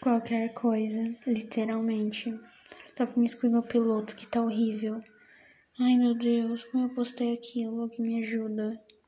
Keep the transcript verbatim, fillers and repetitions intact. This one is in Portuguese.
qualquer coisa, literalmente. Só pra me excluir meu piloto, que tá horrível. Ai, meu Deus, como eu postei aquilo, que me ajuda.